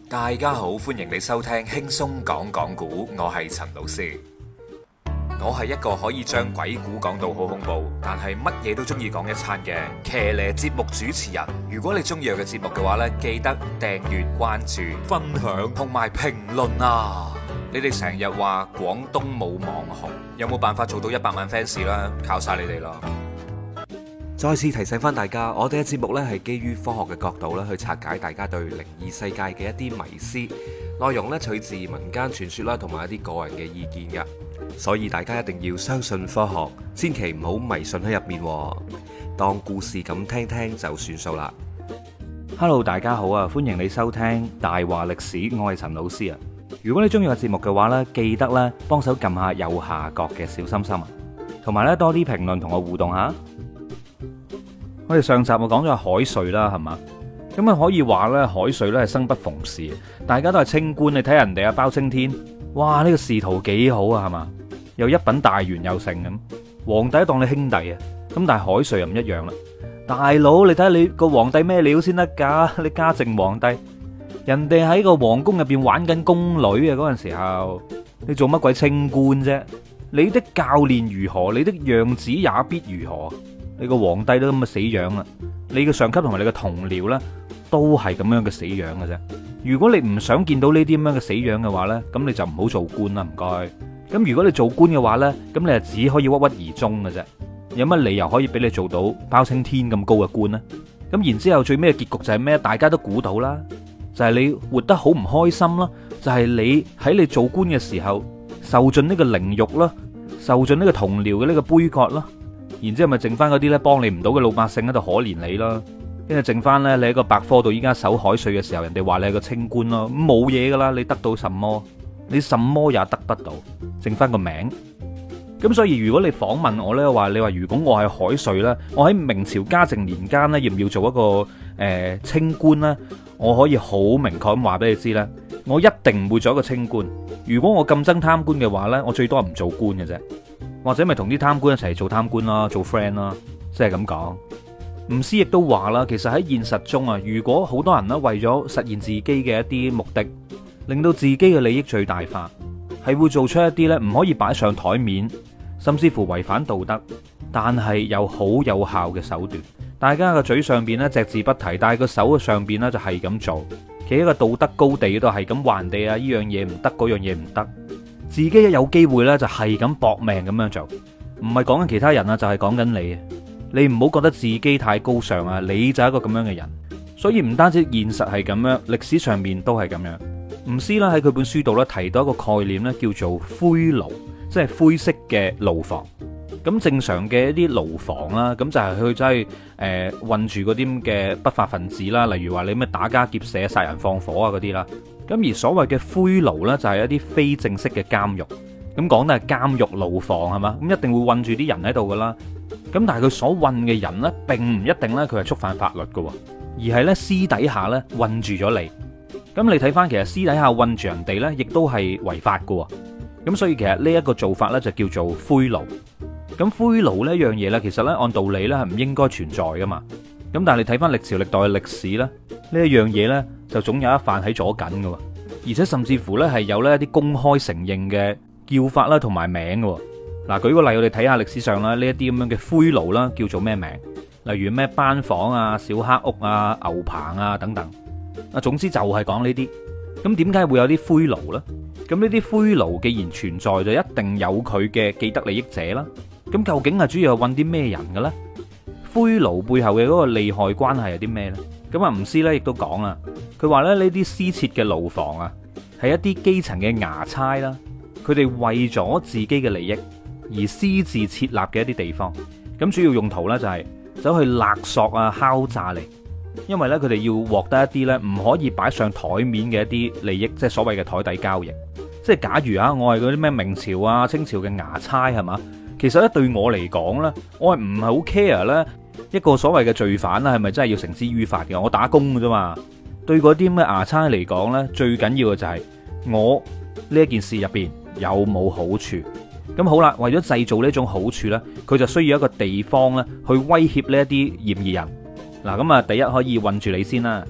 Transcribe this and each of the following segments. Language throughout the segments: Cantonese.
大家好，歡迎你收聽輕鬆講講古，我係陳老師。我係一個可以將鬼故講到好恐怖，但係乜嘢都中意講一餐嘅騎呢節目主持人。如果你中意我嘅節目嘅話呢，記得訂閱、關注、分享同埋評論啊！你哋成日話廣東冇網紅，有冇辦法做到100萬 fans 啦？靠晒你哋啦！再次提醒翻大家，我哋嘅節目呢係基於科學嘅角度咧去拆解大家對靈異世界嘅一啲迷思，內容呢取自民間傳說啦，同埋一啲個人嘅意見噶，所以大家一定要相信科學，千祈唔好迷信喺入面，當故事咁聽聽就算數啦。 Hello， 大家好啊，歡迎你收聽大話歷史，我係陳老師啊。如果你中意個節目嘅話呢，記得咧幫手撳下右下角嘅小心心啊，同埋呢多啲評論同我互動下。我哋上集我講咗海瑞啦，係嘛？咁啊可以話咧，海瑞咧係生不逢時，大家都係清官，你睇人哋啊包青天，哇呢個仕途幾好啊，係嘛？又一品大員又成咁，皇帝當你兄弟啊，咁但係海瑞又唔一樣啦。大佬，你睇下你個皇帝咩料先得噶？你嘉靖皇帝，人哋喺個皇宮入邊玩緊宮女啊，嗰陣時候你做乜鬼清官啫？你的教練如何，你的樣子也必如何。你個皇帝都咁嘅死樣啦，你嘅上級同埋你嘅同僚呢，都係咁樣嘅死樣嘅啫。如果你唔想見到呢啲咁樣嘅死樣嘅話呢，咁你就唔好做官啦，唔該。咁如果你做官嘅話呢，咁你就只可以鬱鬱而終嘅啫。有乜理由可以俾你做到包青天咁高嘅官呢？咁然之後最尾嘅結局就係咩？大家都估到啦，就係你活得好唔開心啦，就係你喺你做官嘅時候受盡呢個凌辱啦，受盡呢個同僚嘅呢個杯葛啦。然之後咪剩翻嗰啲咧幫你唔到嘅老百姓喺度可憐你啦，跟住剩翻咧你喺個百科度依家守海瑞嘅時候，人哋話你係個清官咯，咁冇嘢噶啦，你得到什麼？你什麼也得不到，剩翻個名。咁所以如果你訪問我咧，你話如果我係海瑞咧，我喺明朝嘉靖年間咧，要唔要做一個清官咧？我可以好明確咁話俾你知咧，我一定唔會做一個清官。如果我咁憎貪官嘅話咧，我最多唔做官嘅啫。或者咪同啲貪官一齊做貪官啦，做 friend 啦，即係咁講。吳師亦都話啦，其實喺現實中啊，如果好多人咧為咗實現自己嘅一啲目的，令到自己嘅利益最大化，係會做出一啲咧唔可以擺上台面，甚至乎違反道德，但係又好有效嘅手段。大家嘅嘴上邊咧隻字不提，但係個手上邊咧就係咁做，企喺個道德高地度係咁話人哋啊，呢樣嘢唔得，嗰樣嘢唔得。自己一有機會呢，就係咁搏命咁樣做，唔係講緊其他人啊，就係講緊你。你唔好覺得自己太高尚啊，你就係一個咁樣嘅人。所以唔單止現實係咁樣，歷史上面都係咁樣。吳思啦喺佢本書度呢，提到一個概念呢，叫做灰牢，即係灰色嘅牢房。咁正常嘅一啲牢房啦，咁就係佢真係困住嗰啲嘅不法分子啦，例如話你咩打家劫舍、殺人放火啊嗰啲啦。咁而所謂嘅灰牢呢，就係一啲非正式嘅監獄。咁講得係監獄牢房係嘛？咁一定會困住啲人喺度噶啦。咁但係佢所困嘅人呢，並唔一定呢，佢係觸犯法律噶，而係呢，私底下呢，困住咗你。咁你睇翻其實私底下困住人哋呢，亦都係違法噶。咁所以其實呢一個做法呢，就叫做灰牢。咁灰牢呢樣嘢呢，其實呢，按道理呢，係唔應該存在噶嘛。咁但係你睇翻歷朝歷代嘅歷史呢，呢一樣嘢呢，就總有一犯喺左近嘅，而且甚至乎呢係有呢一啲公開承認嘅叫法啦，同埋名嘅。嗱，舉個例，我哋睇下歷史上啦，呢一啲咁樣嘅灰牢啦，叫做咩名？例如咩班房啊、小黑屋啊、牛棚啊等等。啊，總之就係講呢啲。咁點解會有啲灰牢呢？咁呢啲灰牢既然存在，就一定有佢嘅既得利益者啦。咁究竟係主要係揾啲咩人嘅咧？灰牢背後嘅嗰個利害關係係啲咩呢？咁啊，吳師咧亦都講啦，佢話咧呢啲私設嘅牢房啊，係一啲基層嘅衙差啦，佢哋為咗自己嘅利益而私自設立嘅一啲地方。咁主要用途呢，就係走去勒索啊、敲詐嚟，因為呢，佢哋要獲得一啲呢唔可以擺上台面嘅一啲利益，即係所謂嘅台底交易。即係假如啊，我係嗰啲咩明朝啊、清朝嘅衙差係嘛？其實咧對我嚟講咧，我係唔係好 care 咧一個所謂嘅罪犯啦，係咪真係要繩之於法嘅？我打工嘅啫嘛。對嗰啲咩衙差嚟講咧，最緊要嘅就係我呢一件事入邊有冇好處。咁好啦，為咗製造呢種好處咧，佢就需要一個地方咧去威脅呢一啲嫌疑人。嗱，咁啊，第一可以困住你先啦。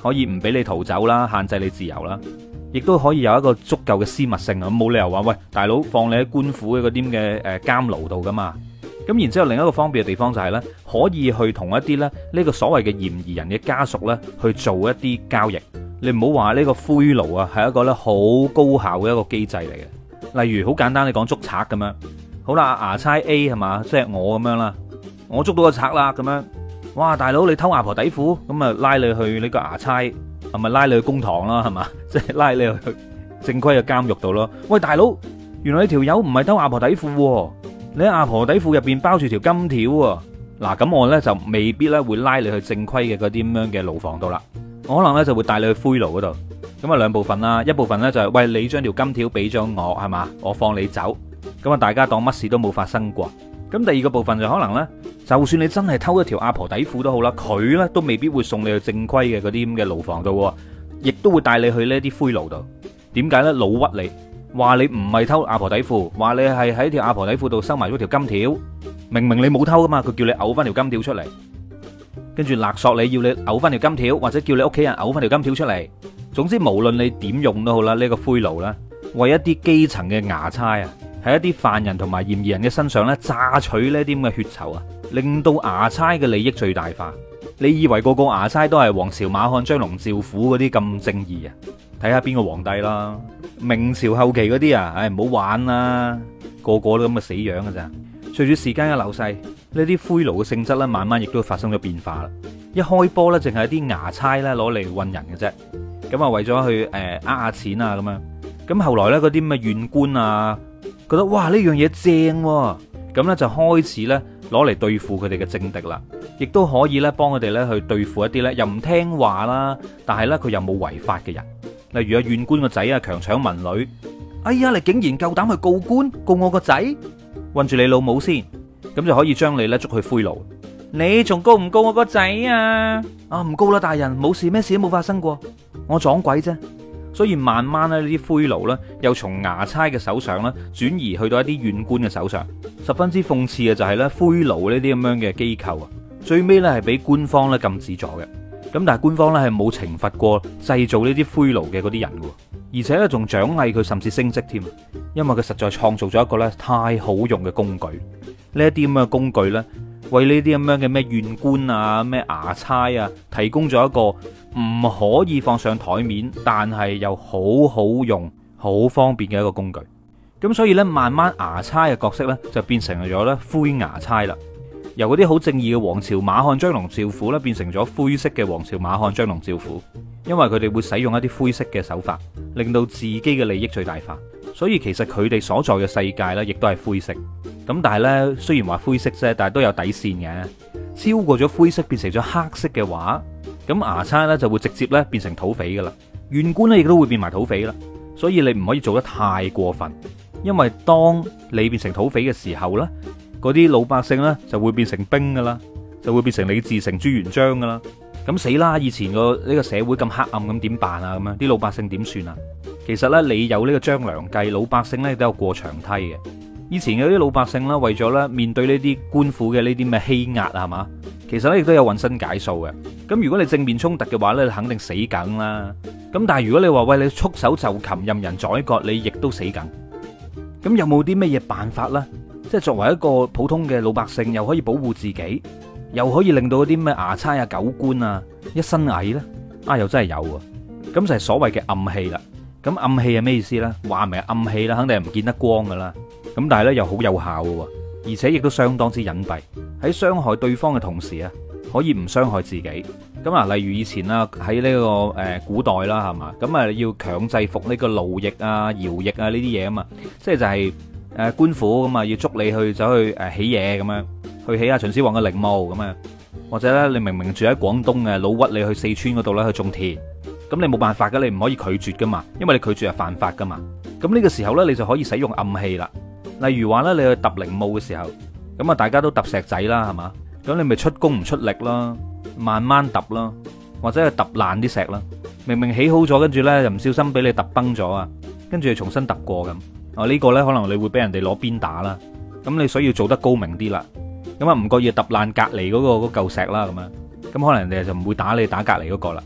可以唔俾你逃走啦，限制你自由啦，亦都可以有一個足夠嘅私密性啊！冇理由話喂，大佬放你喺官府嘅嗰啲嘅監牢度噶嘛。咁然之後另一個方便嘅地方就係呢，可以去同一啲咧呢個所謂嘅嫌疑人嘅家屬呢去做一啲交易。你唔好話呢個灰奴啊係一個呢好高效嘅一個機制嚟嘅。例如好簡單，你講捉賊咁樣，好啦，牙差 A 係嘛，即係我咁樣啦，我捉到個賊啦咁樣，哇大佬你偷阿婆底褲，咁啊拉你去呢個牙差，係咪拉你去公堂啦係嘛，即係拉你去正規嘅監獄度咯。喂大佬，原來你條友唔係偷阿婆底褲，你喺阿婆底褲入邊包住條金條喎。嗱咁我呢就未必咧會拉你去正規嘅嗰啲咁樣嘅牢房度啦，我可能呢就會帶你去灰牢嗰度。咁啊兩部分啦，一部分呢就係喂你將條金條俾咗我係嘛，我放你走，咁啊大家當乜事都冇發生過。咁第二個部分就可能呢，就算你真係偷一條阿婆底褲都好啦，佢呢都未必會送你去正規嘅嗰啲咁嘅牢房度，亦都會帶你去呢啲灰牢度。點解呢？老屈你，話你唔係偷阿婆底褲，話你係喺條阿婆底褲度收埋咗條金條，明明你冇偷噶嘛，佢叫你嘔翻條金條出嚟，跟住勒索你要你嘔翻條金條，或者叫你屋企人嘔翻條金條出嚟。總之無論你點用都好啦，呢個灰奴啦，為一啲基層嘅衙差啊，喺一啲犯人同埋嫌疑人嘅身上咧榨取呢啲咁嘅血酬啊，令到衙差嘅利益最大化。你以為個個衙差都係王朝馬漢張龍趙虎嗰啲咁正義啊？睇下邊個皇帝啦，明朝後期嗰啲啊，唉唔好玩啦，個個都咁嘅死樣㗎咋。隨住時間嘅流逝，呢啲灰奴嘅性質咧，慢慢亦都發生咗變化啦。一開波咧，淨係啲衙差咧攞嚟韞人嘅啫。咁啊，為咗去呃下錢啊咁樣。咁後來咧，嗰啲咩縣官啊，覺得哇呢樣嘢正喎，咁咧就開始咧攞嚟對付佢哋嘅政敵啦，亦都可以咧幫佢哋咧去對付一啲咧又唔聽話啦，但係咧佢又冇違法嘅人。例如啊，縣官個仔啊強搶民女，哎呀你竟然夠膽去告官，告我個仔，韞住你老母先，咁就可以將你咧捉去灰牢。你仲告唔告我個仔啊？啊唔告啦，大人，冇事，咩事都冇發生過，我撞鬼啫。所以慢慢咧呢啲灰奴咧又從衙差嘅手上咧轉移去到一啲縣官嘅手上。十分之諷刺嘅就係咧灰奴呢啲咁樣嘅機構啊，最尾咧係俾官方咧禁止咗嘅。咁但係官方咧係冇懲罰過製造呢啲灰奴嘅嗰啲人嘅，而且咧仲獎勵佢，甚至升職添，因為佢實在創造咗一個咧太好用嘅工具。呢一啲咁嘅工具咧，為呢啲咁樣嘅咩縣官啊、咩衙差啊，提供咗一個唔可以放上台面，但係又好好用、好方便嘅一個工具。咁所以咧，慢慢衙差嘅角色咧就變成咗咧灰衙差啦。由嗰啲好正義嘅王朝馬漢張龍趙虎咧，變成咗灰色嘅王朝馬漢張龍趙虎，因為佢哋會使用一啲灰色嘅手法，令到自己嘅利益最大化。所以其實佢哋所在嘅世界咧，亦都係灰色。咁但係咧，雖然話灰色啫，但係都有底線嘅。超過咗灰色變成咗黑色嘅話，咁衙差咧就會直接咧變成土匪噶啦，縣官咧亦都會變埋土匪啦。所以你唔可以做得太過分，因為當你變成土匪嘅時候咧，嗰啲老百姓咧就會變成兵噶啦，就會變成李自成、朱元璋噶啦。咁死啦！以前個呢個社會咁黑暗，咁點辦啊？咁樣啲老百姓點算啊？其實咧，你有呢個張良計，老百姓咧都有過牆梯嘅。以前嘅啲老百姓啦，為咗咧面對呢啲官府嘅呢啲咩欺壓啊，係嘛？其實咧亦都有渾身解數嘅。咁如果你正面衝突嘅話咧，你肯定死梗啦。咁但係如果你話喂，你束手就擒，任人宰割，你亦都死梗。咁有冇啲咩嘢辦法咧？即係作為一個普通嘅老百姓，又可以保護自己，又可以令到嗰啲咩衙差啊、狗官啊一身蟻咧？啊，又真係有啊！咁就係所謂嘅暗器啦。咁暗器係咩意思咧？話明係暗器啦，肯定係唔見得光噶啦。咁但係咧又好有效嘅，而且亦都相當之隱蔽，喺傷害對方嘅同時啊，可以唔傷害自己。咁啊，例如以前啦，喺呢個古代啦，係嘛？咁啊要強制服呢個勞役啊、徭役啊呢啲嘢啊嘛，即係就係官府咁啊要捉你去走去起嘢咁樣，去起下秦始皇嘅陵墓咁啊，或者咧你明明住喺廣東嘅，老屈你去四川嗰度咧去種田，咁你冇辦法噶，你唔可以拒絕噶嘛，因為你拒絕係犯法噶嘛。咁呢個時候咧，你就可以使用暗器啦。例如話咧，你去揼陵墓嘅時候，咁啊大家都揼石仔啦，係嘛？咁你咪出工唔出力啦，慢慢揼啦，或者係揼爛啲石啦。明明起好咗，跟住咧又唔小心俾你揼崩咗啊，跟住重新揼過咁。呢個咧可能你會俾人哋攞鞭打啦。咁你所以要做得高明啲啦。咁啊唔覺意揼爛隔離嗰嚿石啦，咁樣。咁可能人哋就唔會打你，打隔離嗰個啦。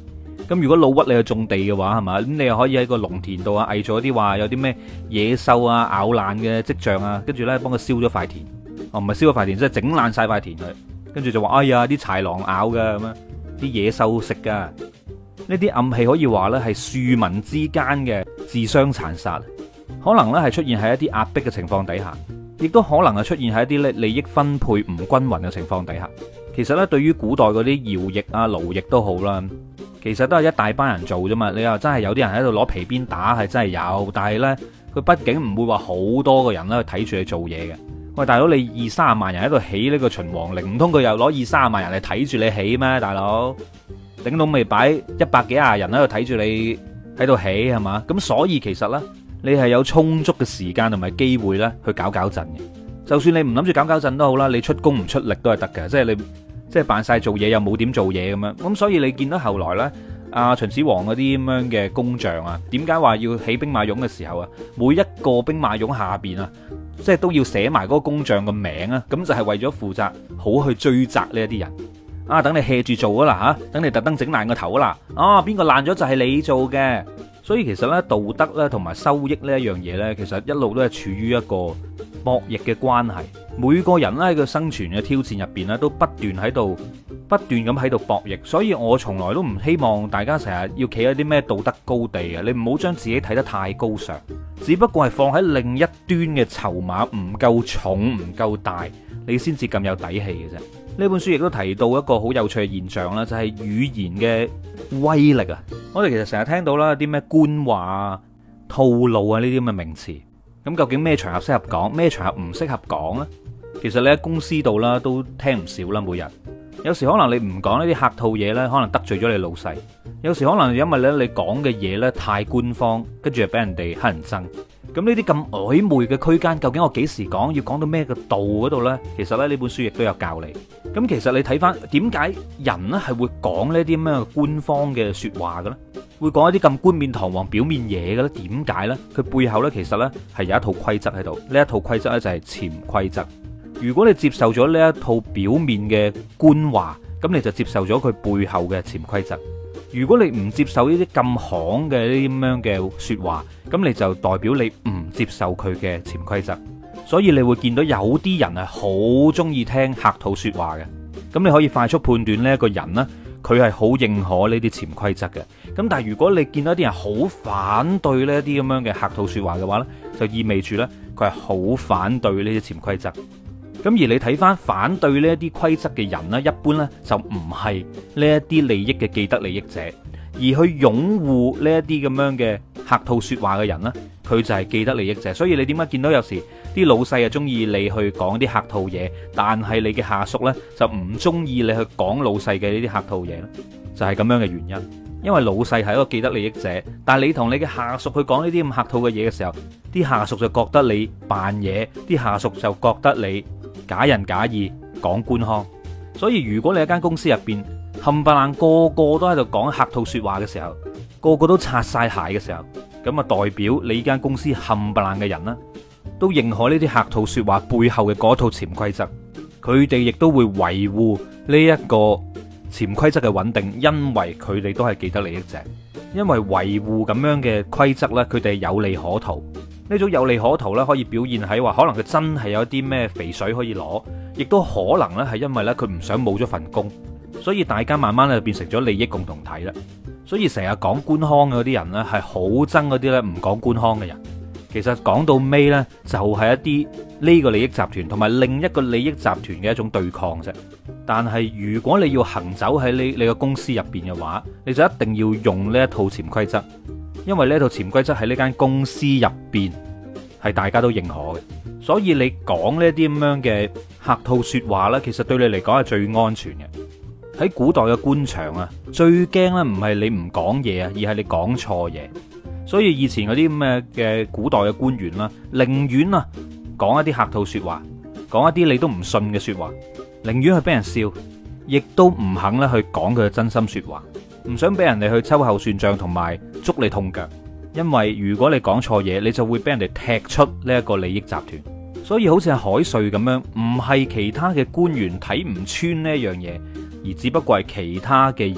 咁如果老屈你去種地嘅話，係嘛？咁你又可以喺個農田度啊，偽造啲話有啲咩野獸啊咬爛嘅跡象啊，跟住咧幫佢燒咗塊田。哦，唔係燒咗塊田，即係整爛晒塊田佢。跟住就話哎呀，啲豺狼咬㗎咁樣，啲野獸食㗎。呢啲暗器可以話咧係庶民之間嘅自相殘殺，可能咧係出現喺一啲壓迫嘅情況底下，亦都可能係出現喺一啲咧利益分配唔均勻嘅情況底下。其實咧，對於古代嗰啲徭役啊、勞役都好啦，其實都係一大班人做啫嘛。你話真係有啲人喺度攞皮鞭打，係真係有，但係呢，佢畢竟唔會話好多個人咧去睇住你做嘢嘅。喂，大佬，你20-30萬人喺度起呢個秦王陵，唔通佢又攞20-30萬人嚟睇住你起咩？大佬，頂到未擺100幾廿人喺度睇住你喺度起係嘛？咁所以其實呢，你係有充足嘅時間同埋機會咧去搞震嘅。就算你唔諗住搞震都好啦，你出工唔出力都係得嘅，即係你。即係扮晒做嘢又冇點做嘢咁樣，咁所以你見到後來呢，秦始皇嗰啲咁樣嘅工匠啊，點解話要起兵馬俑嘅時候啊，每一個兵馬俑下邊啊，即係都要寫埋嗰個工匠嘅名啊，咁就係為咗負責好去追責呢一啲人啊，等你 hea 住做啦吓，等你特登整爛個頭啦，邊個爛咗就係你做嘅。所以其實呢，道德咧同埋收益呢一樣嘢呢，其實一路都係處於一個博弈嘅關係。每個人咧喺個生存嘅挑戰入邊咧，都不斷咁喺度博弈。所以我從來都唔希望大家成日要企喺啲咩道德高地啊！你唔好將自己睇得太高尚，只不過係放喺另一端嘅籌碼唔夠重、唔夠大，你先至咁有底氣嘅啫。呢本書亦都提到一個好有趣嘅現象啦，就係語言嘅威力啊！我哋其實成日聽到啦，啲咩官話啊、套路啊呢啲咁嘅名詞，咁究竟咩場合適合講，咩場合唔適合講呢？其實你喺公司度啦，都聽唔少啦，每日。有時可能你唔講呢啲客套嘢呢，可能得罪咗你老細；有時可能因為咧你講嘅嘢呢太官方，跟住就俾人哋乞人憎。咁呢啲咁曖昧嘅區間，究竟我幾時講，要講到咩個度嗰度呢？其實咧呢本書亦都有教你。咁其實你睇翻點解人呢係會講呢啲咩官方嘅說話嘅咧？會講一啲咁冠冕堂皇表面嘢嘅咧？點解呢？佢背後呢，其實呢係有一套規則喺度。呢一套規則呢，就係潛規則。如果你接受咗呢一套表面嘅官話，咁你就接受咗佢背後嘅潛規則。如果你唔接受呢啲咁行嘅呢啲咁樣嘅說話，咁你就代表你唔接受佢嘅潛規則。所以你會見到有啲人係好中意聽客套說話嘅。咁你可以快速判斷呢一個人呢，佢係好認可呢啲潛規則嘅。咁但係如果你見到啲人好反對呢一啲咁樣嘅客套說話嘅話呢，就意味住呢，佢係好反對呢啲潛規則。咁而你睇翻反對呢一啲規則嘅人呢，一般呢就唔係呢一啲利益嘅既得利益者，而去擁護呢一啲咁樣嘅客套說話嘅人呢，佢就係既得利益者。所以你點解見到有時啲老細啊中意你去講啲客套嘢，但係你嘅下屬呢就唔中意你去講老細嘅呢啲客套嘢呢？就係咁樣嘅原因。因為老細係一個既得利益者，但係你同你嘅下屬去講呢啲咁客套嘅嘢嘅時候，啲下屬就覺得你扮嘢，啲下屬就覺得你假仁假義講官腔。所以如果你喺間公司入邊冚唪唥個個都喺度講客套說話嘅時候，個個都擦晒鞋嘅時候，咁啊代表你呢間公司冚唪唥嘅人啦，都認可呢啲客套說話背後嘅嗰套潛規則，佢哋亦都會維護呢一個潛規則嘅穩定，因為佢哋都係既得利益者，因為維護咁樣嘅規則呢，佢哋有利可圖。呢種有利可圖呢，可以表現喺話，可能佢真係有啲咩肥水可以攞，亦都可能呢係因為呢，佢唔想冇咗份工，所以大家慢慢咧變成咗利益共同體啦。所以成日講官腔嗰啲人呢，係好憎嗰啲呢唔講官腔嘅人。其實講到尾呢，就係一啲呢個利益集團同埋另一個利益集團嘅一種對抗啫。但係如果你要行走喺你個公司入邊嘅話，你就一定要用呢一套潛規則，因為呢一套潛規則喺呢間公司入邊係大家都認可嘅。所以你講呢啲咁樣嘅客套說話呢，其實對你嚟講係最安全嘅。喺古代嘅官場啊，最驚呢唔係你唔講嘢啊，而係你講錯嘢。所以以前嗰啲咁嘅古代嘅官員啦，寧願啊講一啲客套說話，講一啲你都唔信嘅說話，寧願去俾人笑，亦都唔肯咧去講佢嘅真心說話，唔想俾人哋去秋後算賬同埋捉你痛腳。因為如果你講錯嘢，你就會俾人哋踢出呢一個利益集團。所以好似係海瑞咁樣，唔係其他嘅官員睇唔穿呢一樣嘢，而只不過係其他嘅人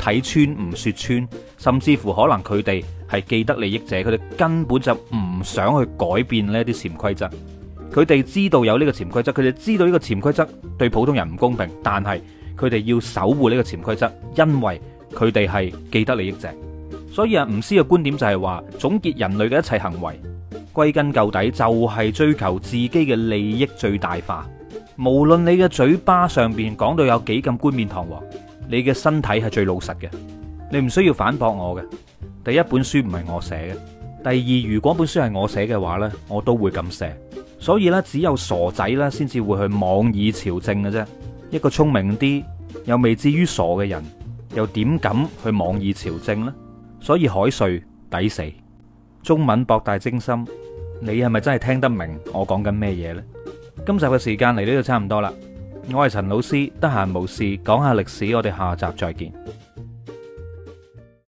睇穿唔說穿，甚至乎可能佢哋係既得利益者，佢哋根本就唔想去改變呢啲潛規則。佢哋知道有呢個潛規則，佢哋知道呢個潛規則對普通人唔公平，但係佢哋要守護呢個潛規則，因為佢哋係既得利益者。所以啊，吳思嘅觀點就係話，總結人類嘅一切行為，歸根究底就係追求自己嘅利益最大化。無論你嘅嘴巴上邊講到有幾咁冠冕堂皇，你嘅身體係最老實嘅。你唔需要反駁我嘅。第一，本書唔係我寫嘅；第二，如果本書係我寫嘅話呢，我都會咁寫。所以呢，只有傻仔呢先至會去妄議朝政嘅啫。一個聰明啲又未至於傻嘅人，又點敢去妄議朝政呢？所以海瑞抵死。中文博大精深，你係咪真係聽得明我講緊咩嘢呢？今集嘅時間嚟到呢度差唔多啦。我係陳老師，得閒無事講下歷史，我哋下集再見。